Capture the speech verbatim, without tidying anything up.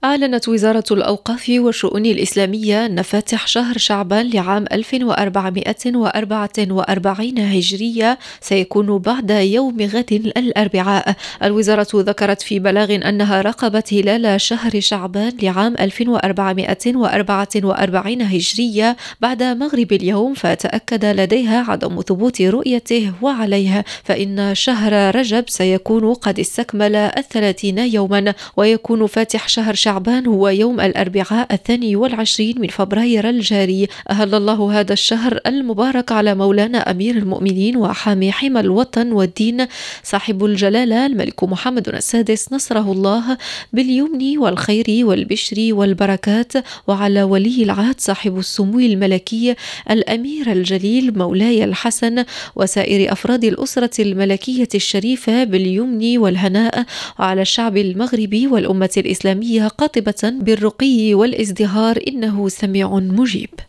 أعلنت وزارة الأوقاف والشؤون الإسلامية أن فاتح شهر شعبان لعام ألف وأربعمائة وأربعة وأربعين هجرية سيكون بعد يوم غد الأربعاء. الوزارة ذكرت في بلاغ أنها راقبت هلال شهر شعبان لعام ألف وأربعمائة وأربعة وأربعين هجرية بعد مغرب اليوم، فتأكد لديها عدم ثبوت رؤيته، وعليها فإن شهر رجب سيكون قد استكمل الثلاثين يوما، ويكون فاتح شهر شعبان شعبان هو يوم الأربعاء الثاني والعشرين من فبراير الجاري. أهل الله هذا الشهر المبارك على مولانا أمير المؤمنين وحامي حمى الوطن والدين صاحب الجلالة الملك محمد السادس نصره الله باليمن والخير والبشر والبركات، وعلى ولي العهد صاحب السمو الملكي الأمير الجليل مولاي الحسن وسائر أفراد الأسرة الملكية الشريفة باليمن والهناء، وعلى الشعب المغربي والأمة الإسلامية قاطبة بالرقي والازدهار، إنه سميع مجيب.